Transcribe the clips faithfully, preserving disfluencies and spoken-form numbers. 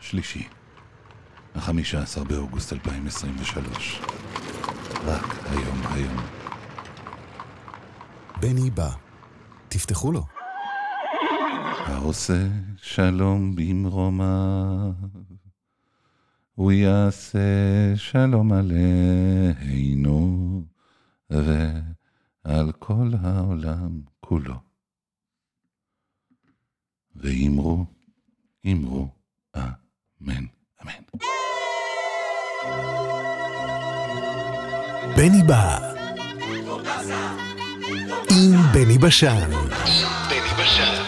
שלישי, החמישה עשר באוגוסט אלפיים עשרים ושלוש. רק היום היום. בני בא. תפתחו לו. העושה שלום במרומיו, הוא יעשה שלום עלינו ועל כל העולם כולו. ואמרו, אמרו, אמן, אמן. בני בא. עם בני בשן. בני בשן.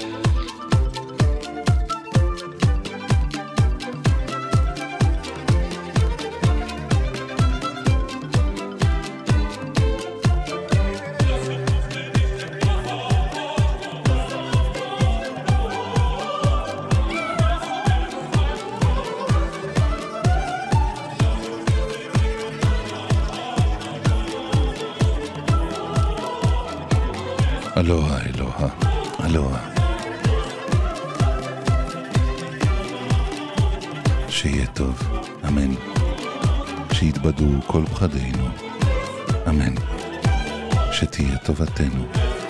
אלוהה, אלוהה, אלוהה. שיהיה טוב, אמן. שיתבדו כל פחדינו, אמן. שתהיה טובתנו,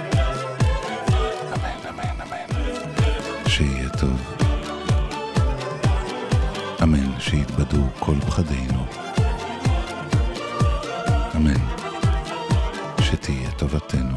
אמן, אמן, אמן. שיהיה טוב, אמן. שיתבדו כל פחדינו, אמן. שתהיה טובתנו.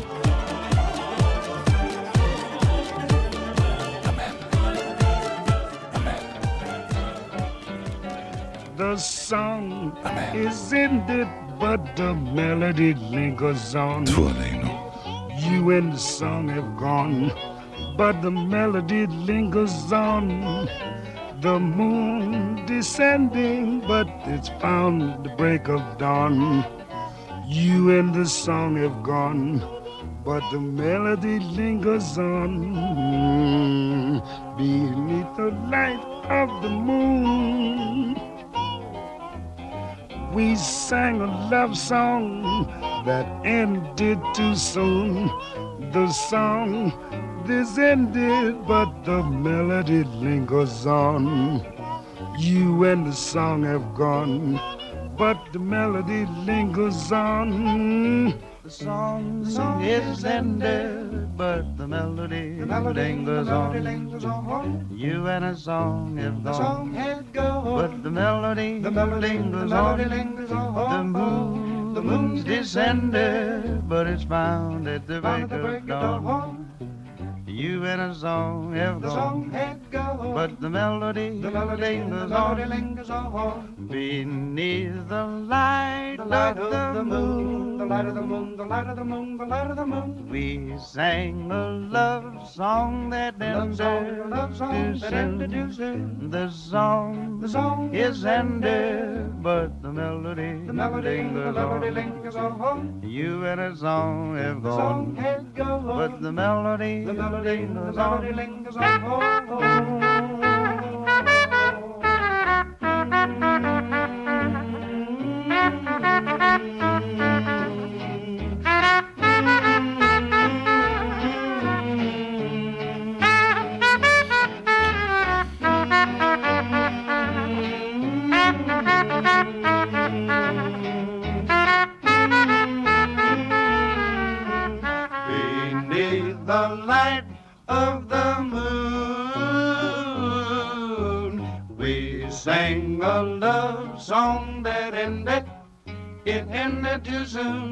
The song is ended, but the melody lingers on. You and the song have gone, but the melody lingers on. The moon descending, but it's found the break of dawn. You and the song have gone, but the melody lingers on. Beneath the light of the moon, we sang a love song that ended too soon. The song is ended, but the melody lingers on. You and the song have gone, but the melody lingers on. The song, the song is ended, but the melody, the melody lingers, the melody on. lingers on. You and a song have gone, the song had gone, but the melody, the melody lingers, the melody on. lingers on. The moon, the moon's descended, but it's found at the break of dawn. You and a song have the gone, song had gone, but the melody, the melody lingers, the melody lingers on. Beneath the light, the light of, of the moon, the light of the moon, the light of the moon, the light of the moon, we sang a love song that ended love song that ended too soon. The song, the song is ended, but the melody, the melody lingers, the melody lingers on. You and a song have gone, the song had gone, but the melody, the melody, the melody lingers on. Beneath the light of the moon, we sang a love song that ended, it ended too soon.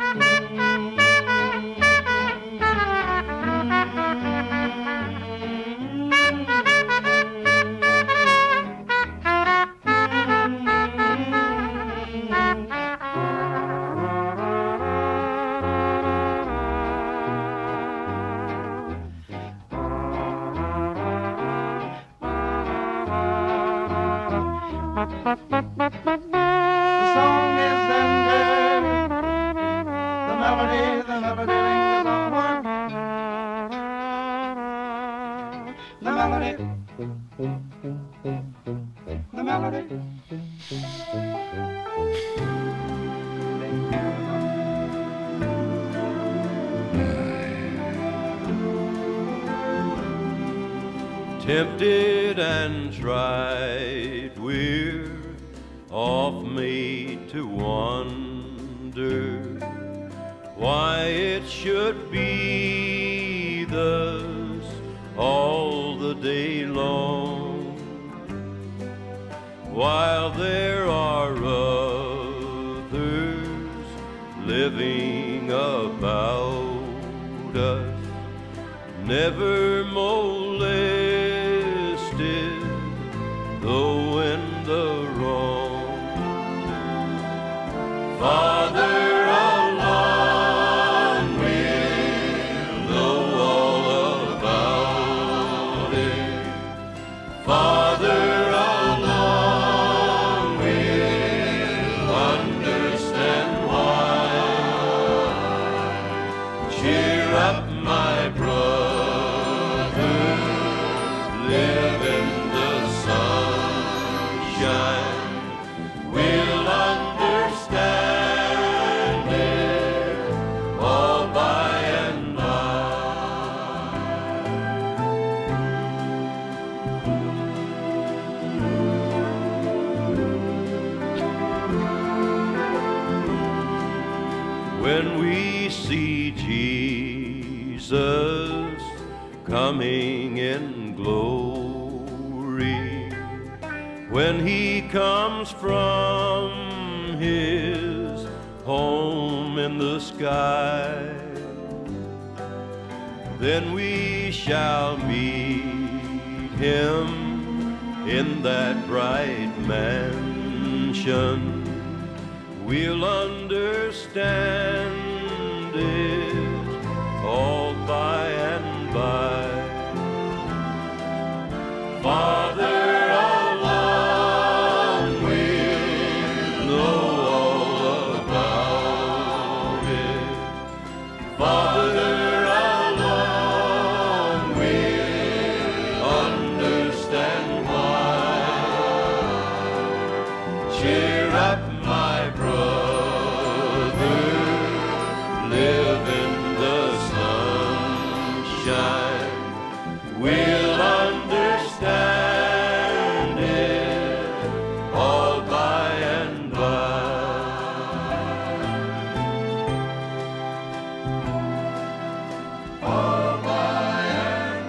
The song is ended, the melody, the melody lingers on. The melody, the melody. Tempted tried and tried, we're oft made to wonder why it should be thus all the day long, while there are others living about us, never molested, though in the wrong. Father, along we'll know all about it. Father, along we'll understand why. Cheer up, my brother, live in the sunshine. We'll understand it all by and by. When we see Jesus coming in glory, when he comes from his home in the sky, then we shall meet him in that bright mansion. We'll understand it all by and by. Father, along we'll know all about it. Father, along we'll understand why. Cheer up, my brother, live in the sunshine. We'll understand it all by and by. All by and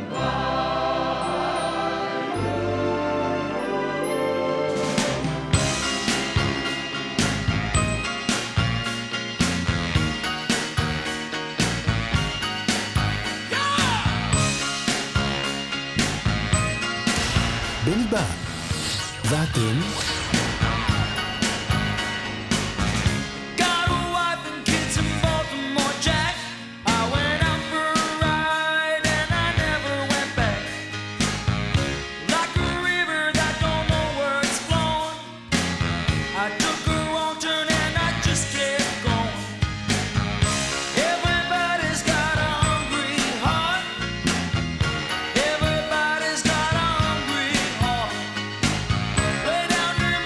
בני בא, ואתם? Got a wife and kids in Baltimore, Jack. I went out for a ride and I never went back. Like a river that don't know where it's flowing, I took a wrong turn and I just kept going. Everybody's got a hungry heart. Everybody's got a hungry heart. Way down near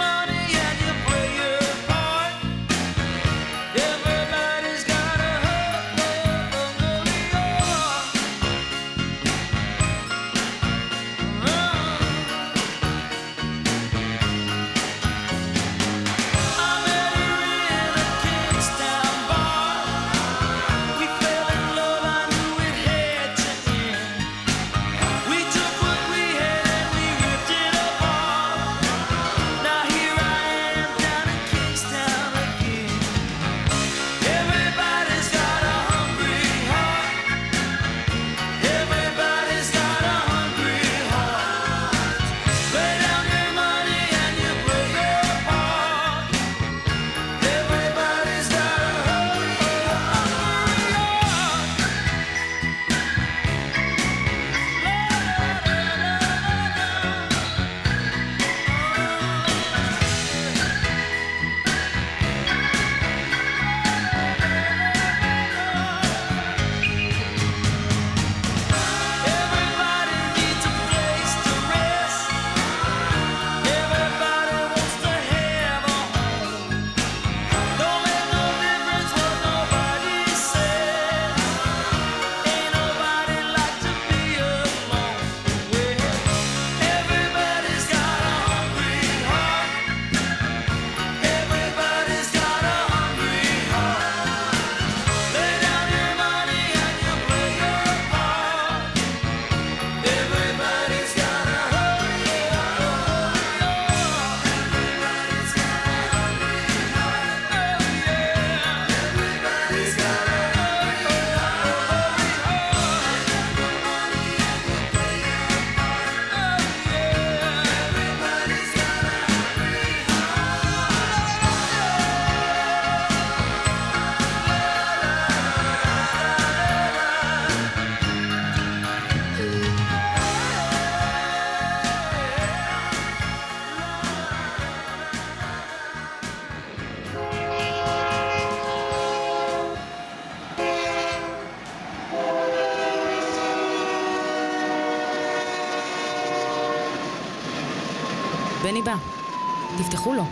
בני בא. תפתחו לו.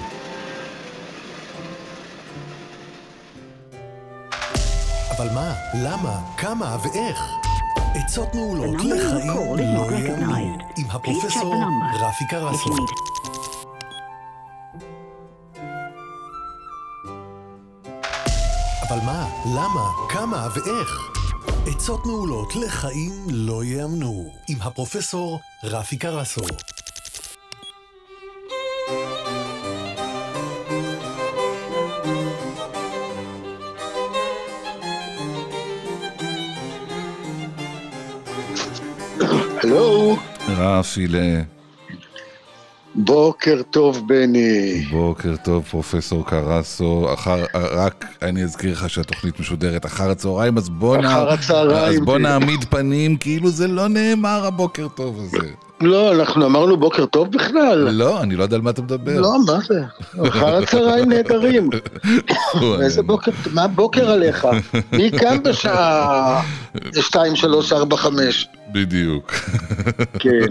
אבל מה? למה? כמה ואיך? עצות מעולות לחיים לא יאמנו עם הפרופסור רפי קרסו. אבל מה? למה? כמה ואיך? עצות מעולות לחיים לא יאמנו עם הפרופסור רפי קרסו. הלו. רפי ל... בוקר טוב בני. בוקר טוב פרופסור קרסו. אחר, רק אני אזכיר לך שהתוכנית משודרת אחר הצהריים, אז בוא, נע... אז בוא נעמיד פנים כאילו זה לא נאמר הבוקר טוב הזה. לא, אנחנו אמרנו בוקר טוב בכלל. לא, אני לא יודע על מה אתה מדבר. לא, מה זה? אחר הצהריים נהדרים. איזה בוקר, מה בוקר עליך? מי כאן בשעה שתיים, שלוש, ארבע, חמש? בדיוק. כן.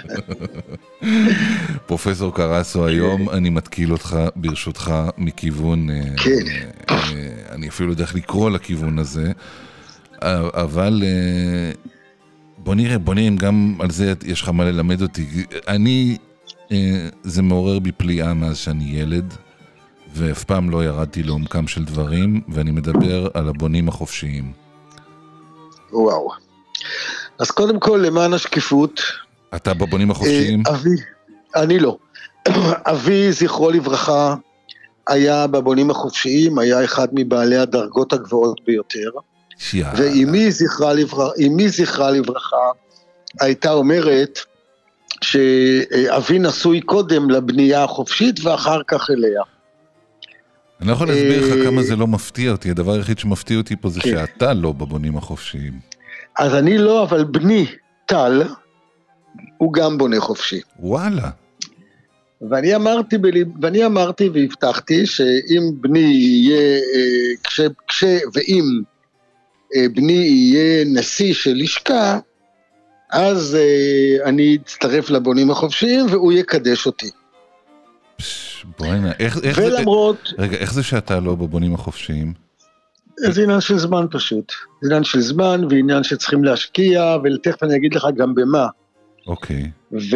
פרופסור קרסו, היום אני מתקיל אותך ברשותך מכיוון, כן. אני אפילו יודע איך לקרוא לכיוון הזה, אבל בוא נראה, בוא נראה אם גם על זה יש לך מה ללמד אותי. אני, זה מעורר בי פליאה מאז שאני ילד, ואף פעם לא ירדתי לעומקם של דברים, ואני מדבר על הבונים החופשיים. וואו. אז קודם כל, למען השקיפות... אתה בבונים החופשיים? אבי, אני לא. אבי, זכרו לברכה, היה בבונים החופשיים, היה אחד מבעלי הדרגות הגבוהות ביותר, ואמי זכרה לברכה, אמי זכרה לברכה, הייתה אומרת שאבי נשוי קודם לבנייה החופשית ואחר כך אליה. אני לא יכול להסביר לך כמה זה לא מפתיע אותי, הדבר היחיד שמפתיע אותי פה זה שאתה לא בבונים החופשיים. אז אני לא, אבל בני טל, הוא גם בונה חופשי. וואלה. ואני אמרתי, ואני אמרתי והבטחתי שאם בני יהיה, כש, כש, ואם בני יהיה נשיא של לשכה, אז אני אצטרף לבונים החופשיים והוא יקדש אותי. בואי נע, איך, איך ולמרות... זה, רגע, איך זה שאתה לא בבונים החופשיים? זה עניין של זמן פשוט. זה עניין של זמן ועניין שצריכים להשקיע, ולתכף אני אגיד לך גם במה. אוקיי.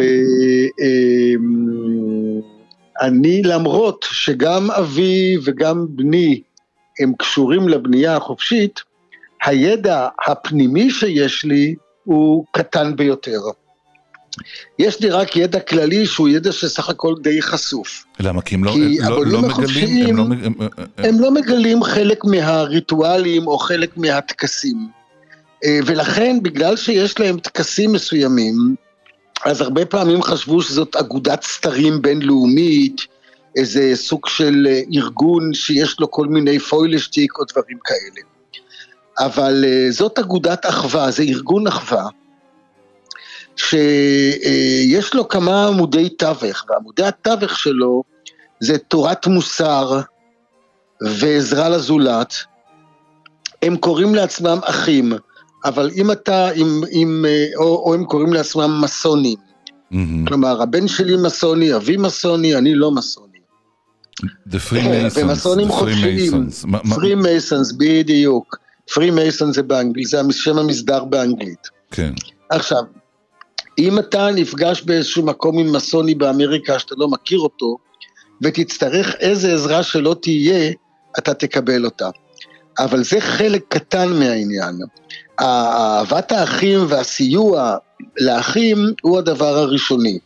ואני למרות שגם אבי וגם בני הם קשורים לבנייה החופשית, הידע הפנימי שיש לי הוא קטן ביותר. יש לי רק ידע כללי שהוא ידע שסך הכל די חשוף. למה? כי הם לא, כי לא, לא מגלים, הם לא, הם, הם לא מגלים חלק מהריטואלים או חלק מהתקסים. ולכן בגלל שיש להם תקסים מסוימים, אז הרבה פעמים חשבו שזאת אגודת סתרים בינלאומית, איזה סוג של ארגון שיש לו כל מיני פוילשטיק או דברים כאלה. אבל זאת אגודת אחווה, זה ארגון אחווה, שיש לו כמה עמודי תווך, ועמודי התווך שלו זה תורת מוסר ועזרה לזולת. הם קוראים לעצמם אחים, אבל אם אתה, אם, אם, או, או הם קוראים לעצמם מסונים. Mm-hmm. כלומר, הבן שלי מסוני, אבי מסוני, אני לא מסוני. The Freemasons. ומסונים חופשיים. Freemasons, בדיוק. Freemasons זה באנגלית, זה שם המסדר באנגלית. כן. עכשיו, אם אתה נפגש באיזשהו מקום עם מסוני באמריקה שאתה לא מכיר אותו, ותצטרך איזה עזרה שלא תהיה, אתה תקבל אותה. אבל זה חלק קטן מהעניין. אהבת האחים והסיוע לאחים הוא הדבר הראשוני.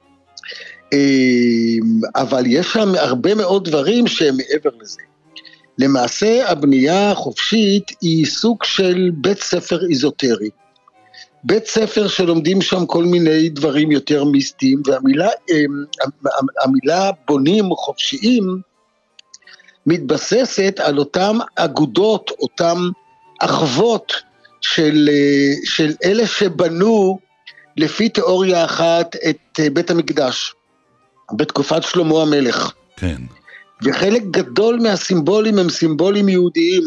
אבל יש שם הרבה מאוד דברים שהם מעבר לזה. למעשה הבנייה החופשית היא סוג של בית ספר איזוטרי. בית ספר שלומדים שם כל מיני דברים יותר מיסטיים, והמילה המילה בונים חופשיים מתבססת על אותם אגודות, אותם אחוות של, של אלה שבנו לפי תיאוריה אחת את בית המקדש, בתקופת שלמה המלך. כן. וחלק גדול מהסימבולים הם סימבולים יהודיים,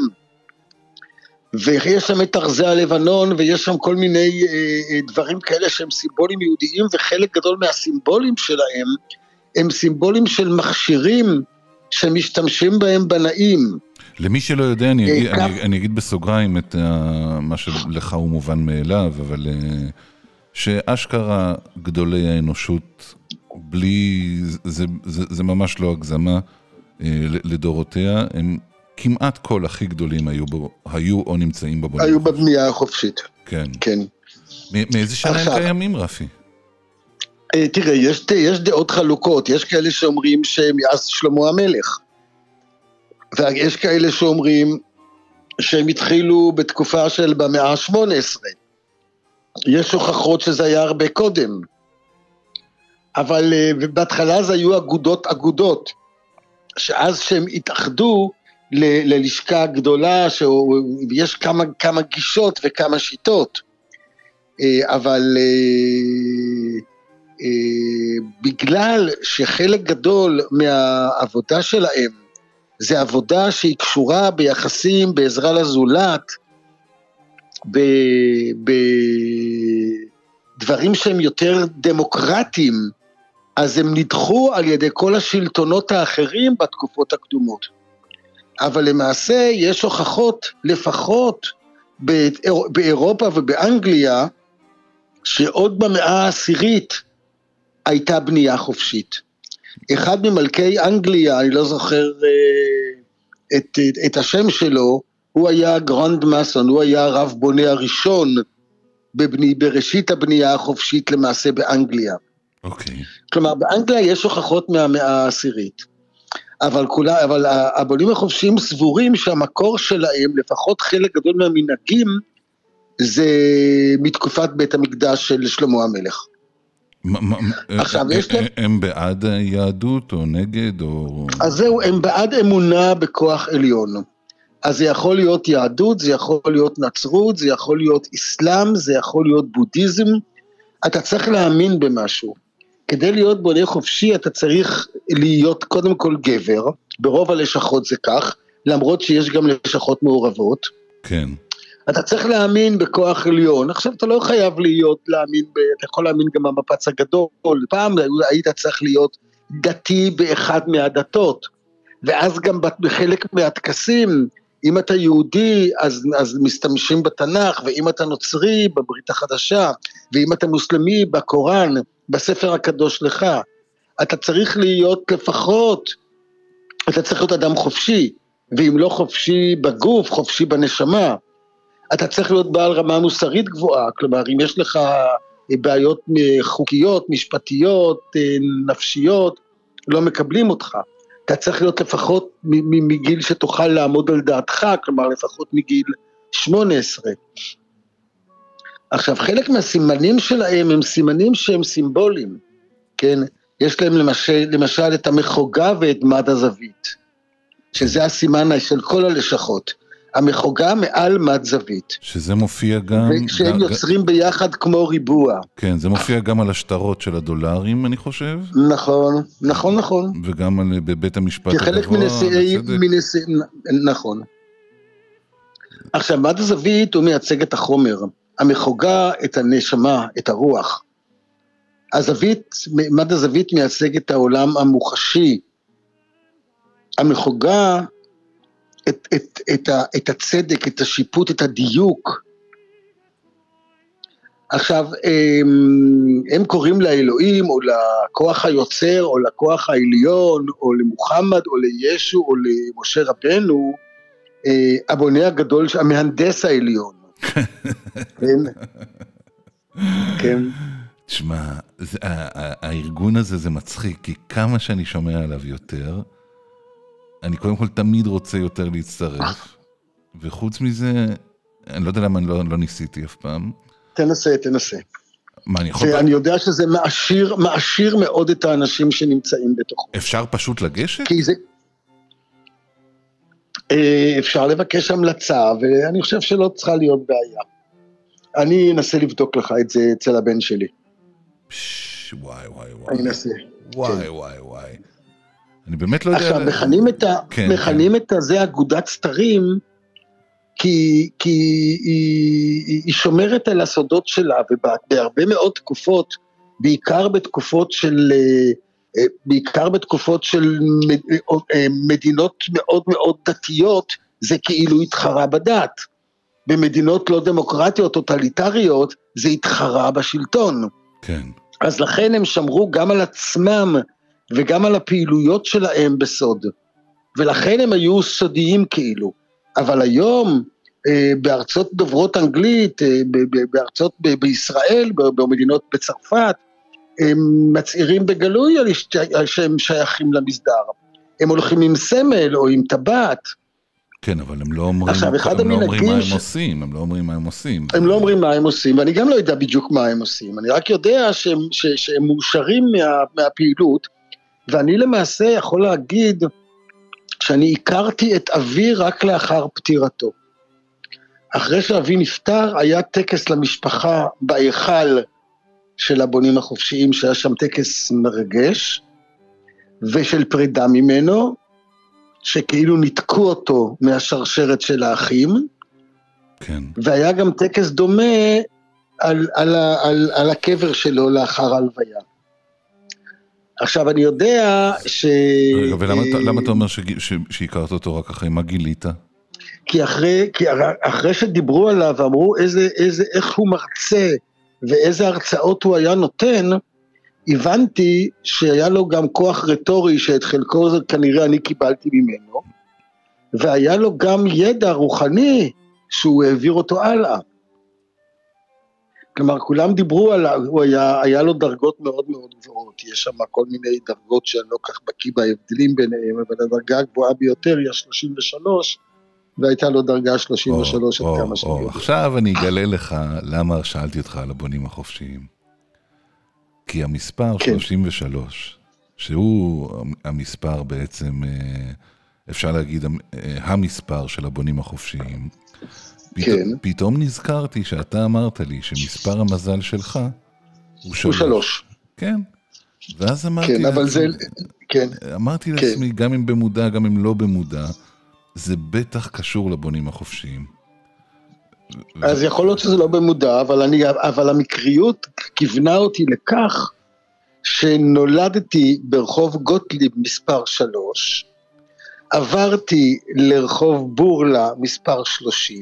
ויש שם את ארזי הלבנון, ויש שם כל מיני אה, דברים כאלה שהם סימבולים יהודיים, וחלק גדול מהסימבולים שלהם הם סימבולים של מכשירים שמשתמשים בהם בנאים. למי שלא יודע, אני אגיד, כך... אני, אני אגיד בסוגריים את uh, מה שלך הוא מובן מאליו, אבל uh, שאשכרה גדולי האנושות, בלי, זה, זה, זה ממש לא הגזמה uh, לדורותיה, הם כמעט כל הכי גדולים היו, בו, היו או נמצאים בבונים. היו בבנייה החופשית. כן. כן. מאיזה שנה הם קיימים, רפי? תראה, יש, יש דעות חלוקות, יש כאלה שאומרים שמאז שלמה המלך, ויש כאלה שאומרים שהם התחילו בתקופה של במאה ה-שמונה עשרה, יש הוכחות שזה היה הרבה קודם, אבל בהתחלה זה היו אגודות אגודות, שאז שהם התאחדו ל, ללשכה גדולה, שיש כמה, כמה גישות וכמה שיטות, אבל בגלל שחלק גדול מהעבודה שלהם, זה עבודה שהיא קשורה ביחסים, בעזרה לזולת, בדברים שהם יותר דמוקרטיים, אז הם נדחו על ידי כל השלטונות האחרים בתקופות הקדומות. אבל למעשה יש הוכחות לפחות באירופה ובאנגליה, שעוד במאה העשירית הייתה בנייה חופשית. אחד ממלכי אנגליה, אני לא זוכר את, את, את השם שלו, הוא היה גרנד מסון, הוא היה הרב בונה הראשון בבני, בראשית הבנייה החופשית למעשה באנגליה. אוקיי. Okay. כלומר, באנגליה יש הוכחות מהמאה העשירית, אבל, כולה, אבל הבונים החופשיים סבורים שהמקור שלהם, לפחות חלק גדול מהמנהגים, זה מתקופת בית המקדש של שלמה המלך. עכשיו, יש להם... הם בעד יהדות או נגד או... אז זהו, הם בעד אמונה בכוח עליון. אז זה יכול להיות יהדות, זה יכול להיות נצרות, זה יכול להיות אסלאם, זה יכול להיות בודהיזם. אתה צריך להאמין במשהו. כדי להיות בונה חופשי, אתה צריך להיות קודם כל גבר, ברוב הלשכות זה כך, למרות שיש גם לשכות מעורבות. כן. אתה צריך להאמין בכוח עליון, עכשיו אתה לא חייב להיות, להאמין, ב, אתה יכול להאמין גם במפץ הגדול, פעם היית צריך להיות דתי באחד מהדתות, ואז גם בחלק מהטקסים, אם אתה יהודי, אז, אז משתמשים בתנ"ך, ואם אתה נוצרי, בברית החדשה, ואם אתה מוסלמי, בקוראן, בספר הקדוש לך, אתה צריך להיות לפחות, אתה צריך להיות אדם חופשי, ואם לא חופשי בגוף, חופשי בנשמה, אתה צריך להיות בעל רמה מוסרית גבוהה, כלומר, אם יש לך בעיות חוקיות, משפטיות, נפשיות, לא מקבלים אותך. אתה צריך להיות לפחות מגיל שתוכל לעמוד על דעתך, כלומר, לפחות מגיל שמונה עשרה. עכשיו, חלק מהסימנים שלהם הם סימנים שהם סימבוליים, כן? יש להם למשל, למשל את המחוגה ואת מד הזווית, שזה הסימן של כל הלשכות. המחוגה מעל מד זווית. שזה מופיע גם... וכשהם גם, יוצרים ביחד כמו ריבוע. כן, זה מופיע גם על השטרות של הדולרים, אני חושב. נכון, נכון, נכון. וגם על, בבית המשפט הגבוה. כחלק מנשיאי... מנשיא, נכון. עכשיו, מד הזווית הוא מייצג את החומר. המחוגה את הנשמה, את הרוח. הזווית, מד הזווית מייצג את העולם המוחשי. המחוגה... את, את, את, ה, את הצדק, את השיפוט, את הדיוק. עכשיו, הם, הם קוראים לאלוהים, או לכוח היוצר, או לכוח העליון, או למוחמד, או לישו, או למשה רבנו, הבונה הגדול, המהנדס העליון. כן? כן. תשמע, זה, הארגון הזה זה מצחיק, כי כמה שאני שומע עליו יותר, אני קודם כל תמיד רוצה יותר להצטרף, וחוץ מזה, אני לא יודע למה אני לא, לא ניסיתי אף פעם. תנסה, תנסה. מה, אני יכול... אני יודע שזה מעשיר, מעשיר מאוד את האנשים שנמצאים בתוכו. אפשר פשוט לגשת? כי זה... אפשר לבקש המלצה, ואני חושב שלא צריכה להיות בעיה. אני אנסה לבדוק לך את זה אצל הבן שלי. פש, וואי, וואי, וואי. אני אנסה. וואי, כן. וואי, וואי. אני באמת לא יודע... עכשיו, מכנים את, ה... כן, מכנים כן. את הזה אגודת סתרים, כי, כי היא, היא שומרת על הסודות שלה, ובהרבה מאוד תקופות, בעיקר בתקופות של, בעיקר בתקופות של מדינות מאוד מאוד דתיות, זה כאילו התחרה בדת. במדינות לא דמוקרטיות, טוטליטריות, זה התחרה בשלטון. כן. אז לכן הם שמרו גם על עצמם, וגם על הפעילויות שלהם בסוד. ולכן הם היו סודיים כאילו. אבל היום, בארצות דוברות אנגלית, בארצות בישראל, במדינות בצרפת, הם מצעירים בגלוי על שהם שייכים למסדר. הם הולכים עם סמל או עם טבעת. כן, אבל הם לא אומרים, עכשיו, אחד הם לא אומרים מה הם ש... עושים, הם לא אומרים מה הם עושים. הם לא אומרים מה הם עושים, ואני גם לא יודע בדיוק מה הם עושים. אני רק יודע שהם, ש... שהם מאושרים מה... מהפעילות, ואני למעשה יכול להגיד שאני הכרתי את אבי רק לאחר פטירתו. אחרי שאבי נפטר, היה טקס למשפחה בהיכל של הבונים החופשיים, שהיה שם טקס מרגש, ושל פרידה ממנו, שכאילו ניתקו אותו מהשרשרת של האחים, כן. והיה גם טקס דומה על, על, על, על הקבר שלו לאחר ההלוויה. עכשיו אני יודע ש... רגע, ולמה למה אתה אומר שהכרת אותו רק אחרי מה גילית? כי אחרי, כי אחרי שדיברו עליו ואמרו איזה, איזה, איך הוא מרצה ואיזה הרצאות הוא היה נותן, הבנתי שהיה לו גם כוח רטורי שאת חלקו זה כנראה אני קיבלתי ממנו, והיה לו גם ידע רוחני שהוא העביר אותו הלאה. כלומר, כולם דיברו עליו, הוא היה, היה לו דרגות מאוד מאוד גבוהות, יש שם כל מיני דרגות שאני לא כך בקיא בהבדלים ביניהם, אבל הדרגה הגבוהה ביותר היא ה-שלושים ושלוש, והייתה לו דרגה שלושים ושלוש עד כמה שאני יודע. עכשיו אני אגלה לך למה שאלתי אותך על הבונים החופשיים. כי המספר כן. שלושים ושלוש, שהוא המספר בעצם, אפשר להגיד, המספר של הבונים החופשיים, פתאום, כן. פתאום נזכרתי שאתה אמרת לי שמספר המזל שלך הוא שלוש. הוא שלוש. כן. ואז אמרתי, כן, אבל זה, כן. אמרתי כן. לעצמי, גם אם במודע, גם אם לא במודע, זה בטח קשור לבונים החופשיים. אז יכול להיות שזה לא במודע, אבל, אני, אבל המקריות כיוונה אותי לכך שנולדתי ברחוב גוטליב מספר שלוש, עברתי לרחוב בורלה מספר שלושים,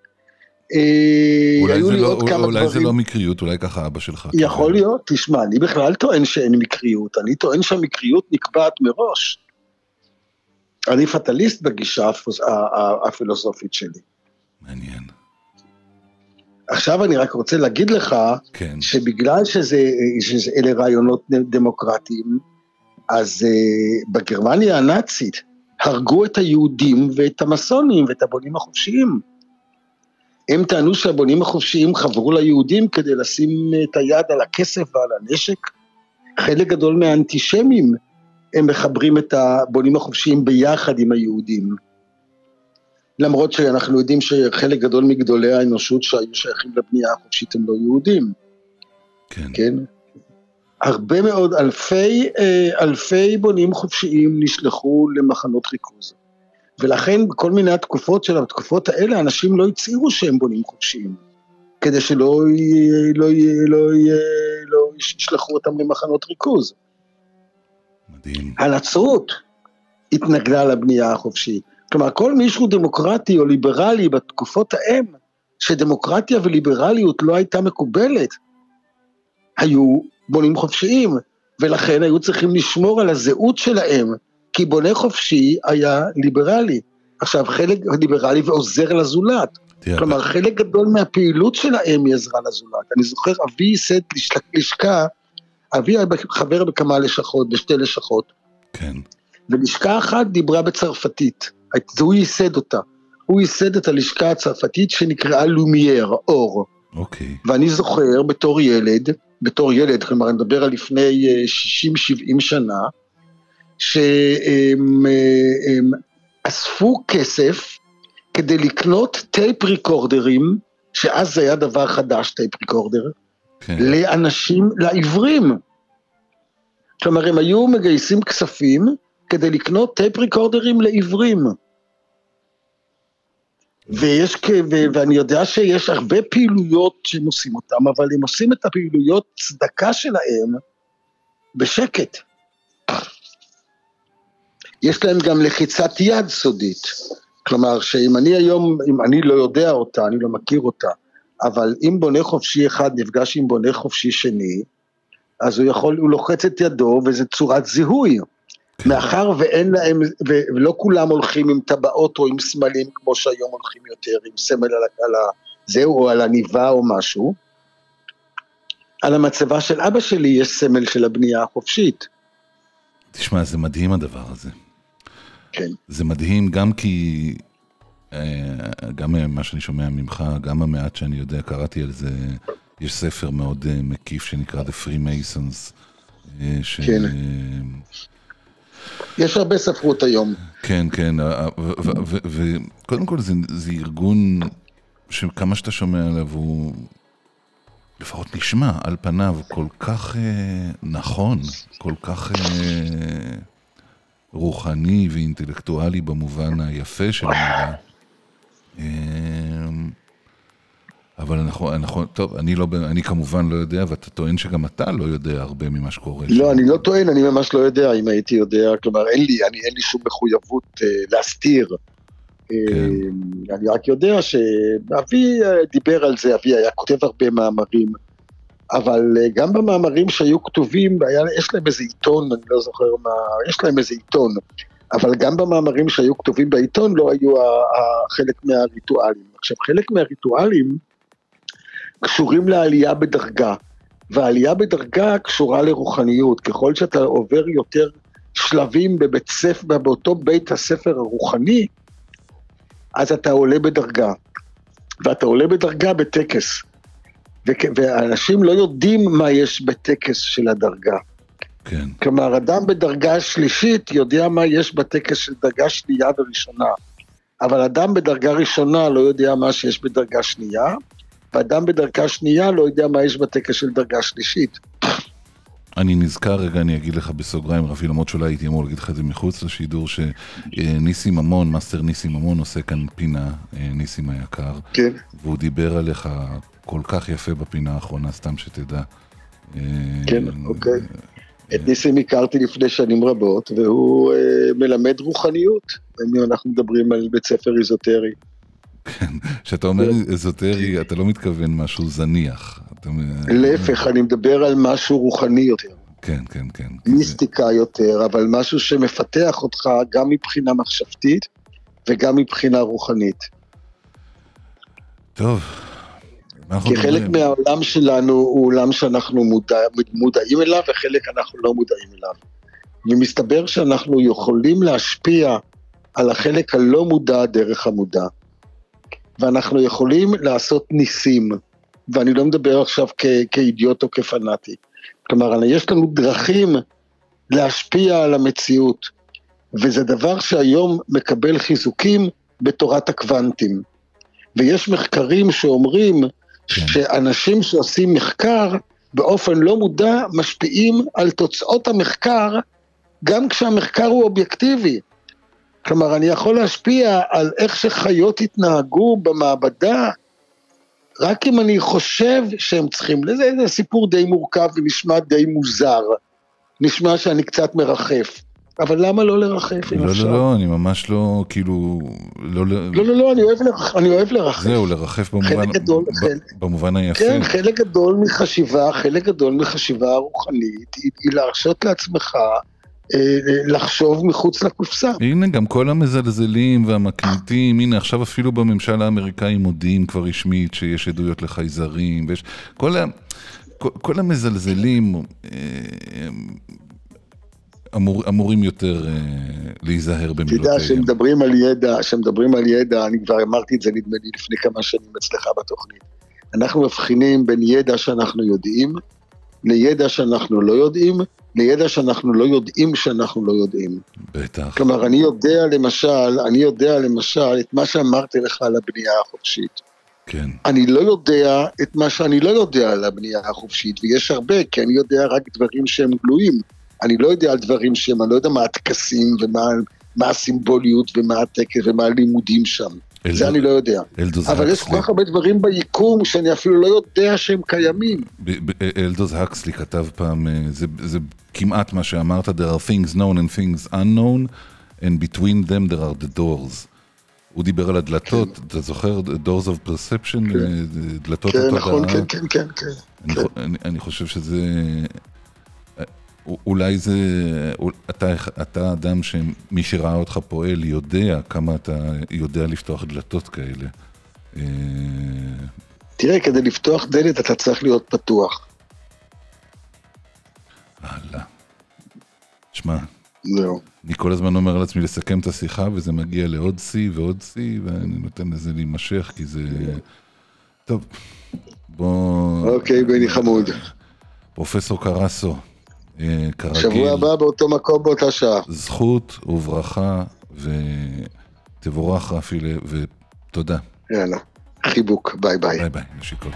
אולי, זה לא, אולי זה לא מקריות, אולי ככה אבא שלך. יכול להיות, תשמע, אני בכלל טוען שאין מקריות, אני טוען שהמקריות נקבעת מראש. אני פטליסט בגישה הפילוסופית שלי. מעניין. עכשיו אני רק רוצה להגיד לך, כן. שבגלל שזה, שזה אלה רעיונות דמוקרטיים, אז uh, בגרמניה הנאצית הרגו את היהודים ואת המסונים ואת הבונים החופשיים. הם טענו שהבונים החופשיים חברו ליהודים כדי לשים את היד על הכסף ועל הנשק. חלק גדול מהאנטישמים הם מחברים את הבונים החופשיים ביחד עם היהודים. למרות שאנחנו יודעים שחלק גדול מגדולי האנושות שהיו שייכים לבנייה החופשית הם לא יהודים. כן. כן? הרבה מאוד, אלפי, אלפי בונים חופשיים נשלחו למחנות ריכוז. ולכן בכל מיני התקופות של התקופות האלה, אנשים לא הצעירו שהם בונים חופשיים, כדי שלא לא, לא, לא ישלחו אותם למחנות ריכוז. מדהים. הנצרות התנגדה לבנייה החופשית. כלומר, כל מישהו דמוקרטי או ליברלי בתקופות ההם, שדמוקרטיה וליברליות לא הייתה מקובלת, היו בונים חופשיים, ולכן היו צריכים לשמור על הזהות שלהם, כי בונה חופשי היה ליברלי. עכשיו, חלק ליברלי ועוזר לזולת. כלומר, חלק גדול מהפעילות שלהם היא עזרה לזולת. אני זוכר, אבי ייסד לשכה, אבי היה חבר בכמה לשכות, בשתי לשכות. כן. ולשכה אחת דיברה בצרפתית. הוא ייסד אותה. הוא ייסד את הלשכה הצרפתית שנקראה לומייר, אור. אוקיי. ואני זוכר בתור ילד, בתור ילד, כלומר, אני מדבר על לפני שישים שבעים שנה, שהם הם, אספו כסף כדי לקנות טייפ ריקורדרים, שאז זה היה דבר חדש, טייפ ריקורדר, כן. לאנשים, לעברים. כלומר, הם היו מגייסים כספים כדי לקנות טייפ ריקורדרים לעברים. ויש, ואני יודע שיש הרבה פעילויות שהם עושים אותם, אבל הם עושים את הפעילויות צדקה שלהם בשקט. יש להם גם לחיצת יד סודית. כלומר, שאם אני היום, אם אני לא יודע אותה, אני לא מכיר אותה, אבל אם בונה חופשי אחד נפגש עם בונה חופשי שני, אז הוא יכול, הוא לוחץ את ידו, וזה צורת זיהוי. מאחר ואין להם, ולא כולם הולכים עם טבעות או עם סמלים, כמו שהיום הולכים יותר, עם סמל על זהו, או על הניבה או משהו, על המצבה של אבא שלי יש סמל של הבנייה החופשית. תשמע, זה מדהים הדבר הזה. כן. זה מדהים גם כי, גם מה שאני שומע ממך, גם המעט שאני יודע, קראתי על זה, יש ספר מאוד מקיף שנקרא The Freemasons. ש... כן. יש הרבה ספרות היום. כן, כן, וקודם כל זה, זה ארגון שכמה שאתה שומע עליו הוא לפחות נשמע על פניו כל כך אה, נכון, כל כך אה, רוחני ואינטלקטואלי במובן היפה של המילה. אה, אבל אנחנו, אנחנו, טוב, אני, לא, אני כמובן לא יודע, ואתה טוען שגם אתה לא יודע הרבה ממה שקורה. לא, אני לא טוען, אני ממש לא יודע אם הייתי יודע, כלומר אין לי, אני, אין לי שום מחויבות אה, להסתיר. כן. אני רק יודע שאבי דיבר על זה, אבי היה כותב הרבה מאמרים, אבל גם במאמרים שהיו כתובים, היה, יש להם איזה עיתון, אני לא זוכר מה, יש להם איזה עיתון, אבל גם במאמרים שהיו כתובים בעיתון לא היו חלק מהריטואלים. עכשיו, חלק מהריטואלים קשורים לעלייה בדרגה, והעלייה בדרגה קשורה לרוחניות. ככל שאתה עובר יותר שלבים בבית ספר, באותו בית הספר הרוחני, אז אתה עולה בדרגה, ואתה עולה בדרגה בטקס, ואנשים לא יודעים מה יש בטקס של הדרגה. כן. כלומר, אדם בדרגה שלישית יודע מה יש בטקס של דרגה שנייה וראשונה, אבל אדם בדרגה ראשונה לא יודע מה שיש בדרגה שנייה, ואדם בדרגה שנייה לא יודע מה יש בטקס של דרגה שלישית. אני נזכר רגע, אני אגיד לך בסוגריים, רפי, למרות שאולי הייתי אמור להגיד לך את זה מחוץ לשידור, שניסים ממון, מאסטר ניסים ממון עושה כאן פינה, ניסים היקר, כן. והוא דיבר עליך כל כך יפה בפינה האחרונה, סתם שתדע. כן, אוקיי. את ניסים הכרתי לפני שנים רבות, והוא מלמד רוחניות, אנחנו מדברים על בית ספר איזוטרי. כן, כשאתה אומר איזוטרי, אתה לא מתכוון משהו זניח. להפך, אני מדבר על משהו רוחני יותר. כן, כן, כן. מיסטיקה יותר, אבל משהו שמפתח אותך גם מבחינה מחשבתית, וגם מבחינה רוחנית. טוב. כי חלק מהעולם שלנו הוא עולם שאנחנו מודע, מודעים אליו, וחלק אנחנו לא מודעים אליו. ומסתבר שאנחנו יכולים להשפיע על החלק הלא מודע דרך המודע. ואנחנו יכולים לעשות ניסים, ואני לא מדבר עכשיו כ- כאידיוט או כפנאטי. כלומר, יש לנו דרכים להשפיע על המציאות, וזה דבר שהיום מקבל חיזוקים בתורת הקוונטים. ויש מחקרים שאומרים שאנשים שעושים מחקר באופן לא מודע משפיעים על תוצאות המחקר, גם כשהמחקר הוא אובייקטיבי. כלומר, אני יכול להשפיע על איך שחיות התנהגו במעבדה, רק אם אני חושב שהם צריכים, זה, זה סיפור די מורכב ונשמע די מוזר, נשמע שאני קצת מרחף, אבל למה לא לרחף? לא, לא, לא, אני ממש לא, כאילו, לא, לא, לא, לא, אני אוהב, אני אוהב לרחף. זהו, לרחף במובן, גדול, ב, חלק, במובן היפה. כן, חלק גדול מחשיבה, חלק גדול מחשיבה רוחנית, היא, היא להרשות לעצמך, לחשוב מחוץ לקופסה. הנה גם כל המזלזלים והמקניטים, הנה עכשיו אפילו בממשל האמריקאי מודיעים כבר רשמית שיש עדויות לחייזרים, ויש כל, ה, כל, כל המזלזלים אמור, אמורים יותר להיזהר במילותיהם. תדע שמדברים על ידע, שמדברים על ידע, אני כבר אמרתי את זה נדמה לי לפני כמה שנים אצלך בתוכנית. אנחנו מבחינים בין ידע שאנחנו יודעים, לידע שאנחנו לא יודעים, לידע שאנחנו לא יודעים שאנחנו לא יודעים. בטח. כלומר, אני יודע למשל, אני יודע למשל את מה שאמרתי לך על הבנייה החופשית. כן. אני לא יודע את מה שאני לא יודע על הבנייה החופשית, ויש הרבה, כי אני יודע רק דברים שהם גלויים. אני לא יודע על דברים שהם, אני לא יודע מה הטקסים, ומה מה הסימבוליות, ומה הטקס, ומה הלימודים שם. אלדוז, זה אני לא יודע. אבל יש כל כך הרבה דברים ביקום, שאני אפילו לא יודע שהם קיימים. אלדוז הקסלי כתב פעם, זה, זה כמעט מה שאמרת, there are things known and things unknown, and between them there are the doors. הוא דיבר על הדלתות, אתה זוכר? doors of perception, דלתות כן, התודעה. נכון, כן, כן, כן, כן. אני, אני, אני חושב שזה, אולי זה, אתה, אתה אדם שמי שראה אותך פועל יודע כמה אתה יודע לפתוח דלתות כאלה. תראה, כדי לפתוח דלת אתה צריך להיות פתוח. הלאה. שמע, זהו. אני כל הזמן אומר לעצמי לסכם את השיחה, וזה מגיע לעוד סי ועוד סי, ואני נותן לזה להימשך, כי זה... טוב, בוא... אוקיי, בני חמוד. פרופסור קרסו, כרגיל. שבוע הבא באותו מקום באותה שעה. זכות וברכה, ותבורך רפי, ותודה. יאללה, חיבוק, ביי ביי. ביי ביי, נשיקות.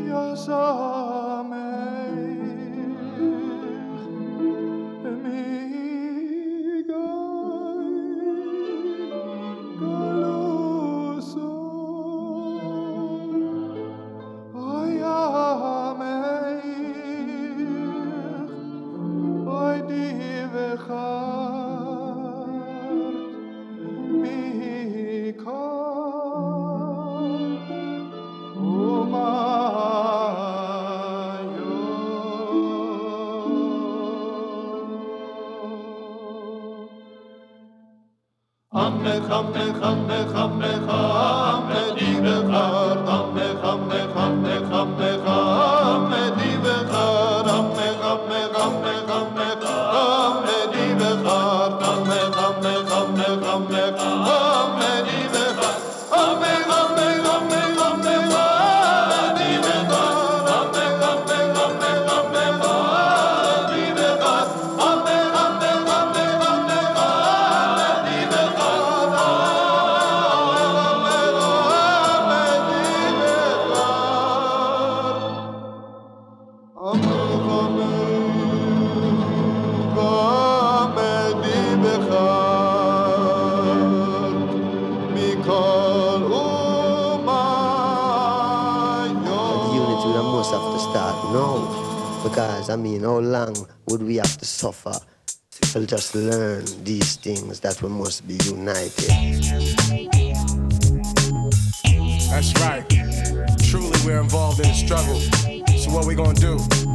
I mean, how long would we have to suffer to just learn these things that we must be united? That's right. Truly, we're involved in the struggle. So what we gonna do?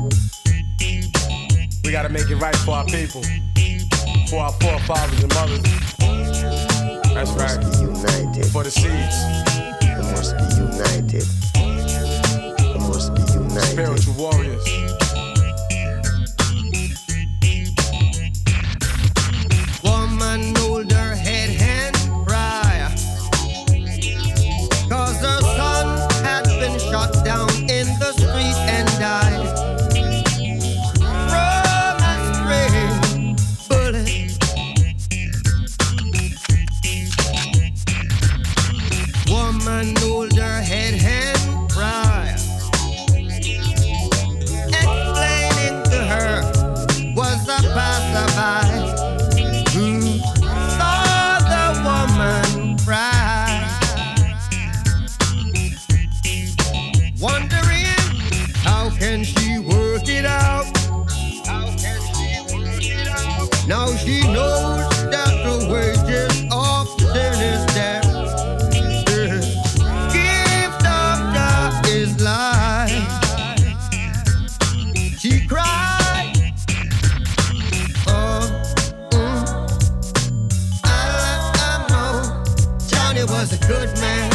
We gotta make it right for our people, for our forefathers and mothers. That's we right. Must be united. For the seeds. We must be united. We must be united. Spiritual warriors. Hold her head and cry, 'cause her son had been shot down in the street and died from a stray bullet. Woman hold her head and cry, explaining to her was a passerby who wondering how can she work it out? How can she work it out? Now she knows that the wages of sin is death. The gift of God is life. She cried. Oh, mm. I let her know Johnny was a good man.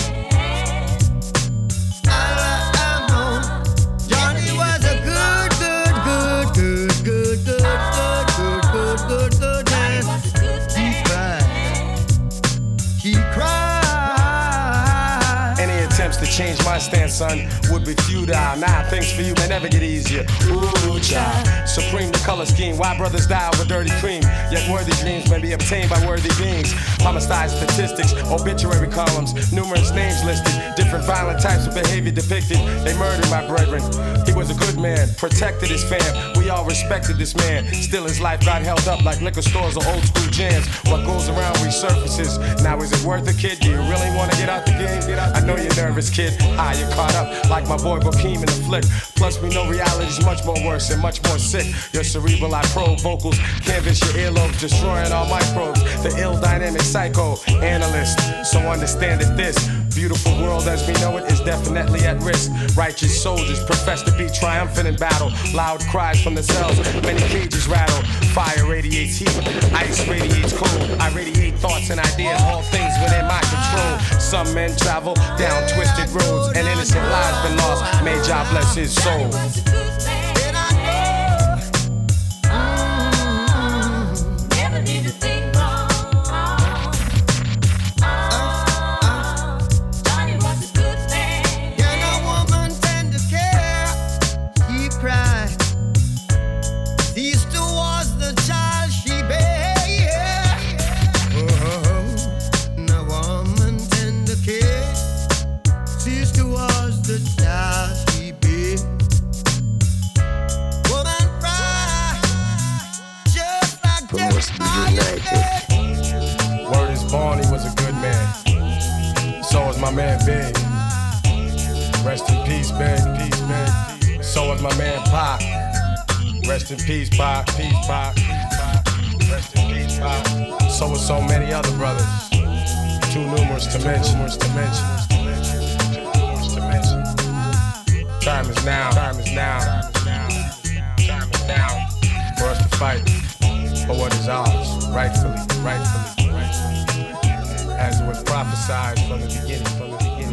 Change my stance, son, would be futile. Nah, things for you may never get easier. Ooh, child. Supreme the color scheme. Why brothers die over dirty cream? Yet worthy dreams may be obtained by worthy beings. Homicide statistics, obituary columns, numerous names listed, different violent types of behavior depicted. They murdered my brethren. He was a good man, protected his fam. We all respected this man. Still his life got held up like liquor stores or old school jams. What goes around resurfaces. Now is it worth it, kid? Do you really want to get out the game? I know you're nervous, kid. Ah, you're caught up like my boy Bokeem in the flick. Plus we know reality's much more worse and much more sick. Your cerebral I probe vocals, canvas your earlobes, destroying all microbes. The ill dynamic psycho analyst. So understand that this beautiful world as we know it is definitely at risk. Righteous soldiers profess to be triumphant in battle. Loud cries from the cells, many cages rattle. Fire radiates heat, ice radiates cold. I radiate thoughts and ideas, all things within my control. Some men travel down twisted roads and innocent lives been lost. May Jah bless his soul. Sister was the child she bear. with my man Pac. Rest in peace, Pac. Peace, Pac. Rest in peace, Pac. So with so many other brothers. Too numerous to mention. Numerous to mention. Too numerous to mention. Time is now. Time is now. Time is now for us to fight for what is ours, rightfully, rightfully, rightfully. As it was prophesied from the beginning, from the beginning.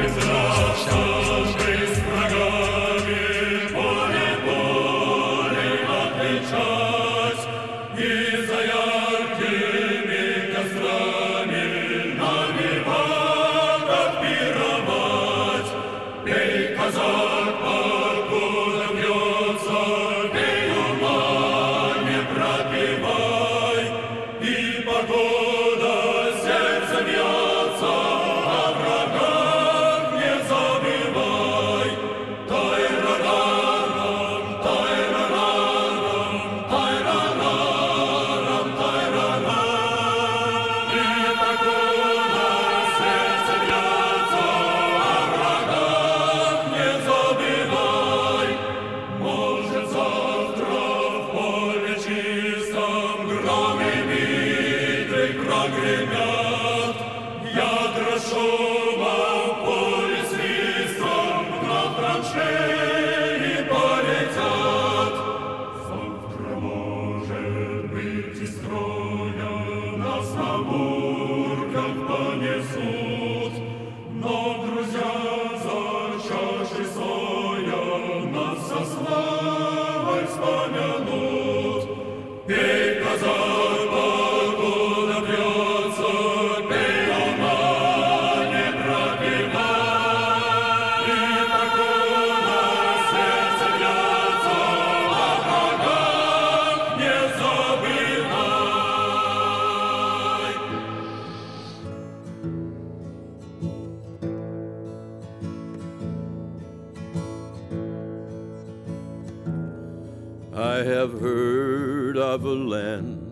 I have heard of a land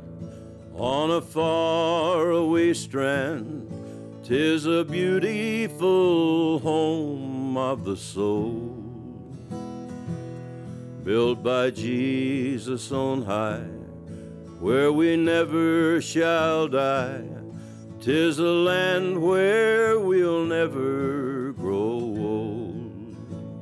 on a faraway strand. 'Tis a beautiful home of the soul, built by Jesus on high, where we never shall die. 'Tis a land where we'll never grow old,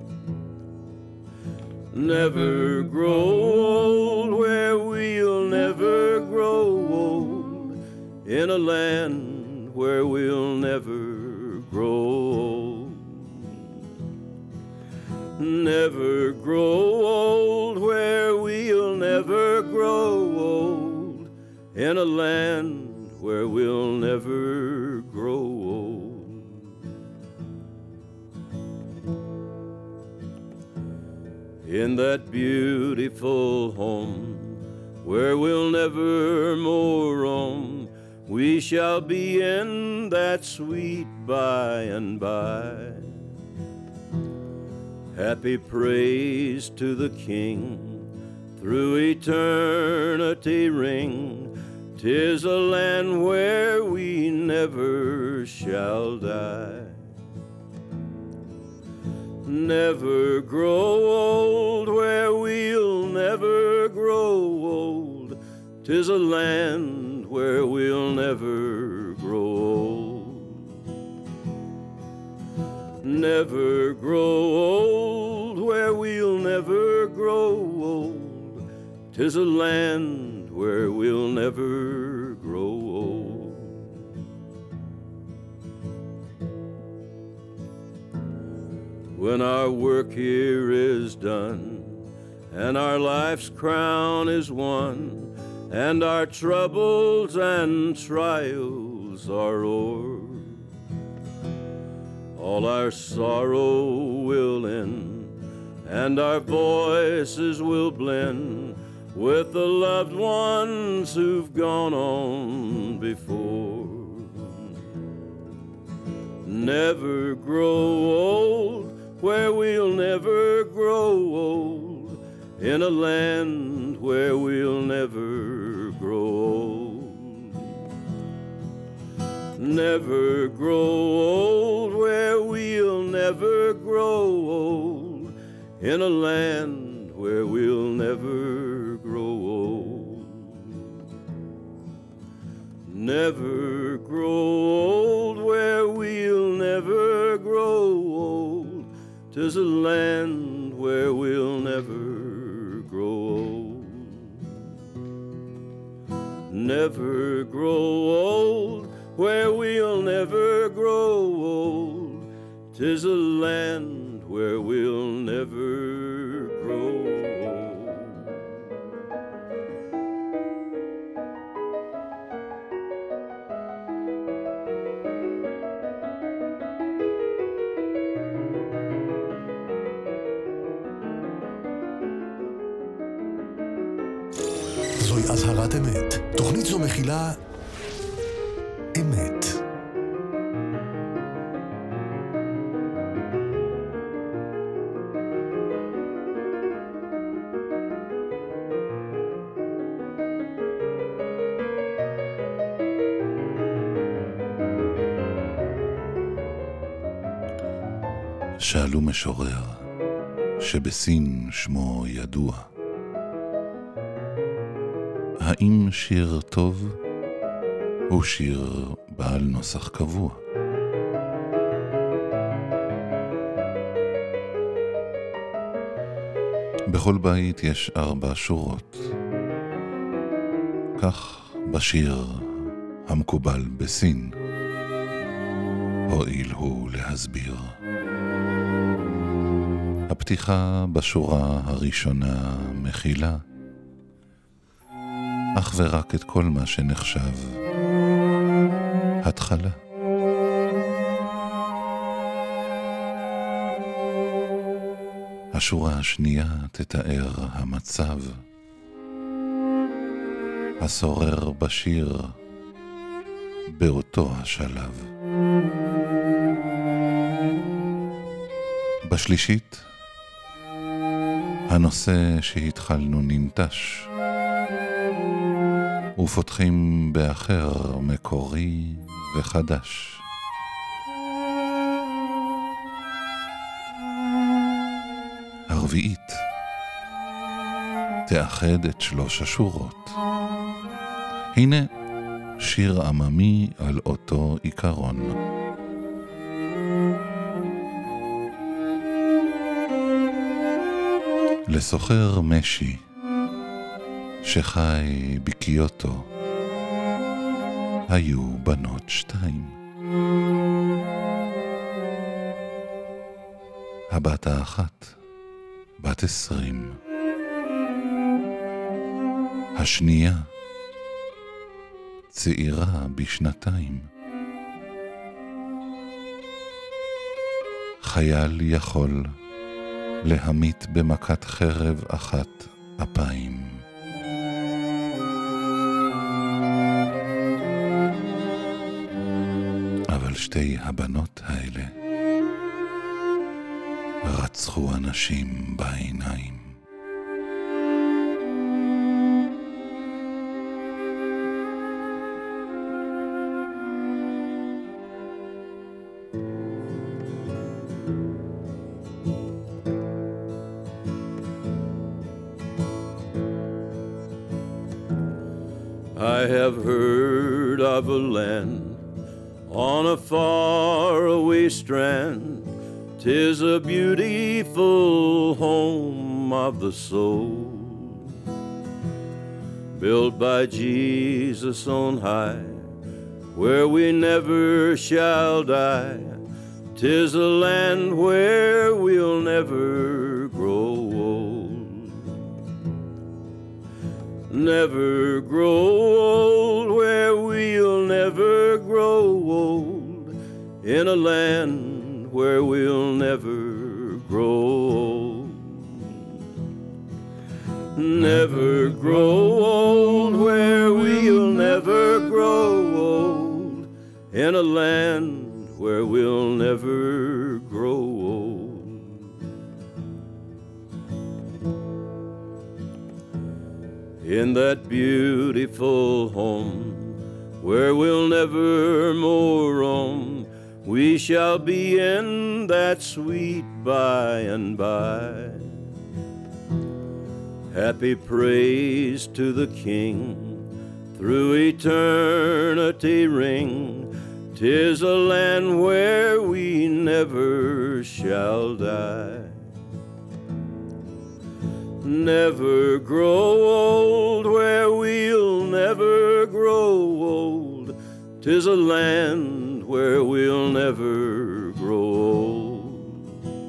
never grow old, where we'll never grow old, in a land where we'll never grow old, never grow old, where we'll never grow old, in a land where we'll never grow old. In that beautiful home where we'll never more roam, we shall be in that sweet by and by. Happy praise to the King through eternity ring. 'Tis a land where we never shall die. Never grow old, where we'll never grow old. 'Tis a land where we'll never grow old. Never grow old, where we'll never grow old. 'Tis a land where we'll never grow old. When our work here is done, and our life's crown is won, and our troubles and trials are o'er, all our sorrow will end, and our voices will blend with the loved ones who've gone on before. Never grow old, where we'll never grow old, in a land where we'll never grow old. Never grow old, where we'll never grow old, in a land where we'll never grow old. Never grow old, where we'll never grow old. 'Tis a land where we'll never grow old. Never grow old, where we'll never grow old. 'Tis a land where we'll never grow old. זוהי אזהרת אמת. תוכנית זו מכילה אמת. שאלו משורר שבסין שמו ידוע, האם שיר טוב הוא שיר בעל נוסח קבוע? בכל בית יש ארבע שורות, כך בשיר המקובל בסין, הואיל הוא להסביר. הפתיחה בשורה הראשונה מכילה אך ורק את כל מה שנחשב התחלה. השורה השנייה תתאר המצב השורר בשיר באותו השלב. בשלישית הנושא שהתחלנו ננטש, ופותחים באחר מקורי וחדש. הרביעית תאחד את שלוש השורות. הנה שיר עממי על אותו עיקרון. לסוחר משי שחי בקיוטו היו בנות שתיים. הבת האחת בת עשרים, השנייה צעירה בשנתיים. חייל יכול להמית במכת חרב אחת אפיים. אבל שתי הבנות האלה רצחו אנשים בעיניים. I have heard of a land on a faraway strand. 'Tis a beautiful home of the soul, built by Jesus on high, where we never shall die. 'Tis a land where we'll never grow old. Never grow old, where we'll never grow old. In a land where we'll never grow old. Never grow old, where we'll never grow old. In a land where we'll never grow old. In that beautiful home where we'll never more roam, we shall be in that sweet by and by. Happy praise to the King through eternity ring. 'Tis a land where we never shall die. Never grow old, where we'll never grow old. 'Tis a land where we'll never grow old.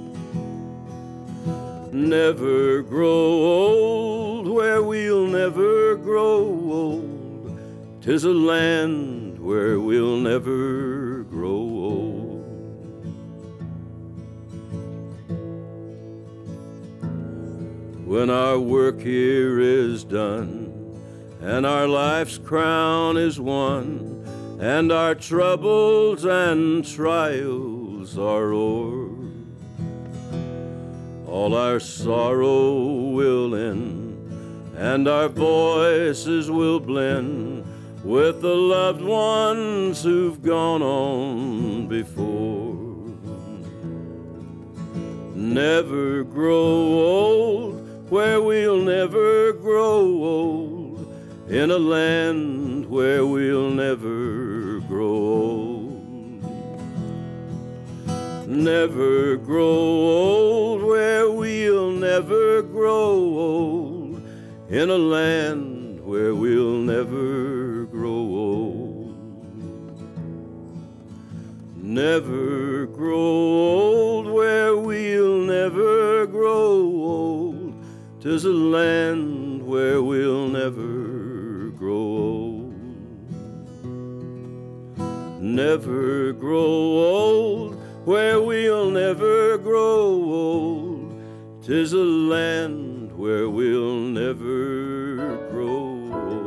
Never grow old, where we'll never grow old. 'Tis a land where we'll never grow old. When our work here is done, and our life's crown is won, and our troubles and trials are o'er, all our sorrow will end, and our voices will blend with the loved ones who've gone on before. Never grow old, where we'll never grow old, in a land where we'll never grow old. Never grow old, where we'll never grow old, in a land where we'll never grow old. Never grow old, where we'll never grow old. 'Tis a land where we'll never grow old. Never grow old, where we'll never grow old. 'Tis a land where we'll never grow old.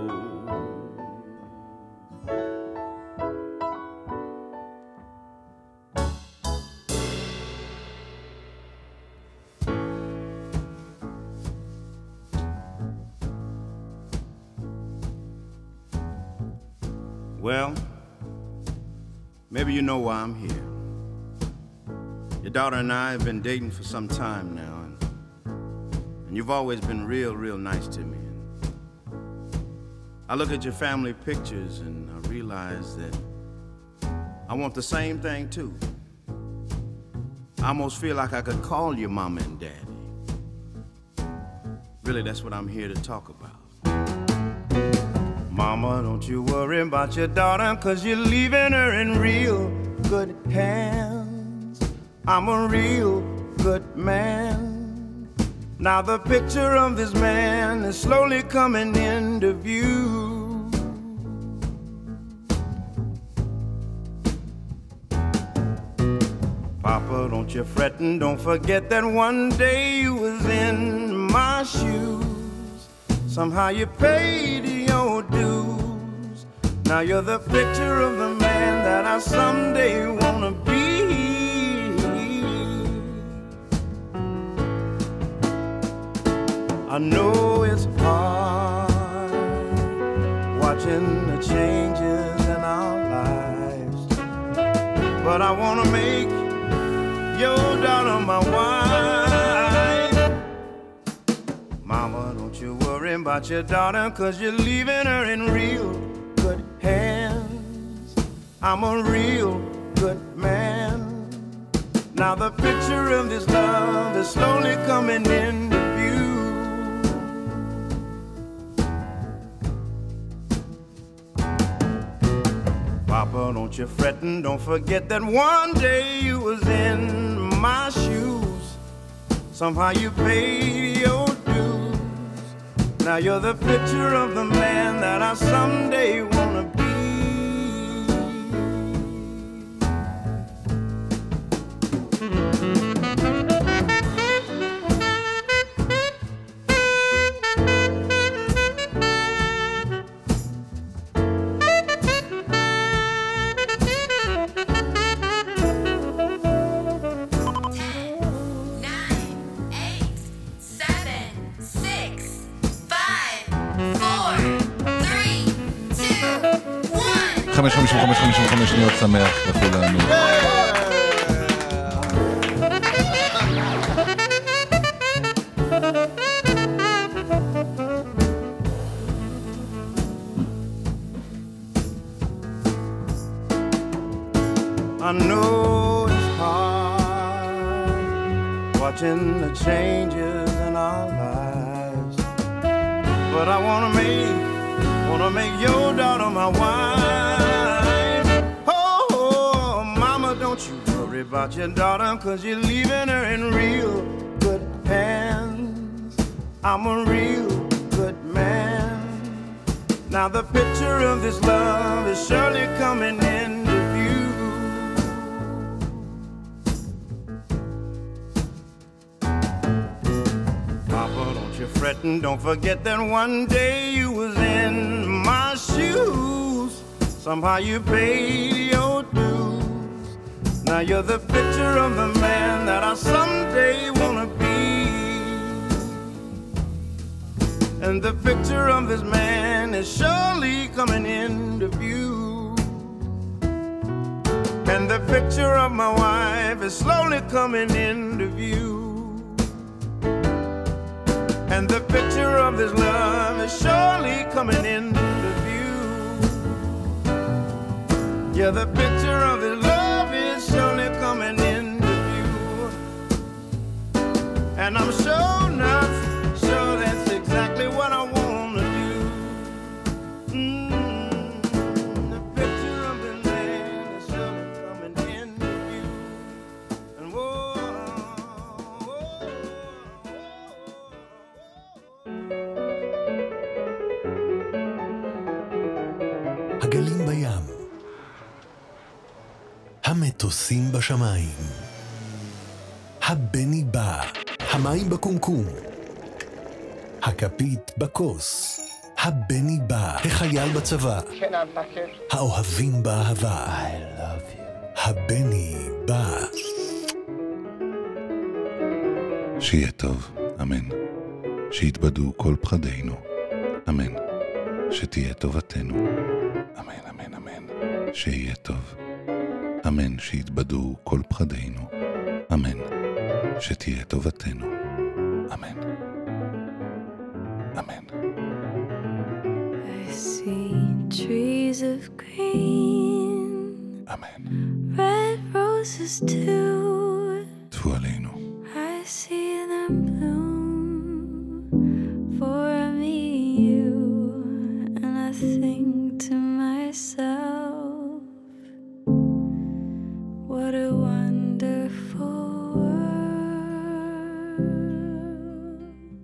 Well, maybe you know why I'm here. Your daughter and I have been dating for some time now, and, and you've always been real, real nice to me. I look at your family pictures and I realize that I want the same thing too. I almost feel like I could call you mama and daddy. Really, that's what I'm here to talk about. Mama, don't you worry about your daughter, 'cause you're leaving her in real good hands. I'm a real good man. Now the picture of this man is slowly coming into view. Papa, don't you fret and don't forget that one day you was in my shoes. Somehow you paid your dues. Now you're the picture of the man that I someday wanna be. I know it's hard watching the changes in our lives, but I wanna make your daughter my wife. Mama, don't you worry about your daughter, 'cause you're leaving her in real good hands. I'm a real good man. Now the picture of this love is slowly coming into view. Papa, don't you fret and don't forget that one day you was in my shoes. Somehow you paid your dues. Now you're the picture of the man that I someday wanna be. חמש חמישים וחמש חמישים וחמש שניות שמח לכולנו. I know it's hard watching the changes in our lives, but I wanna make, wanna make your daughter my wife. Oh, mama, don't you worry about your daughter, 'cause you're leaving her in real good hands. I'm a real good man. Now the picture of this love is surely coming into view. Papa, don't you fret and don't forget that one day you was in my shoes. Somehow you paid your dues. Now you're the picture of the man that I someday wanna be. And the picture of this man is surely coming into view. And the picture of my wife is slowly coming into view. And the picture of this love is surely coming into view. Yeah, the picture of this love is surely coming into view. And I'm sure enough, sure that's exactly what I want to do. Mm, the picture of the man is surely coming into view. And whoa, whoa, הגלים בים, המטוסים בשמיים, הבני בא, המים בקומקום, הכפית בכוס, הבני בא, החייל בצבא, האוהבים באהבה, I love you. הבני בא. שיהיה טוב, אמן. שיתבדו כל פחדינו, אמן. שתהיה טובתנו, אמן, אמן, אמן. שיהיה טוב, אמן. שיתבדו כל פחדינו, אמן. שתהיה טובתנו, אמן. אמן. I see trees of green, אמן. red roses too. טפו עלינו. I see them bloom for me, you, and I think to myself, what a wonderful world.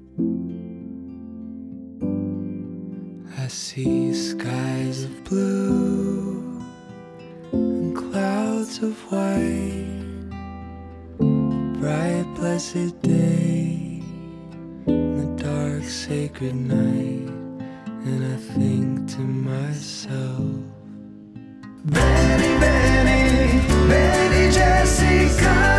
I see skies of blue and clouds of white, bright blessed day and the dark sacred night, and I think to myself, Benny, Benny, Benny Jessica.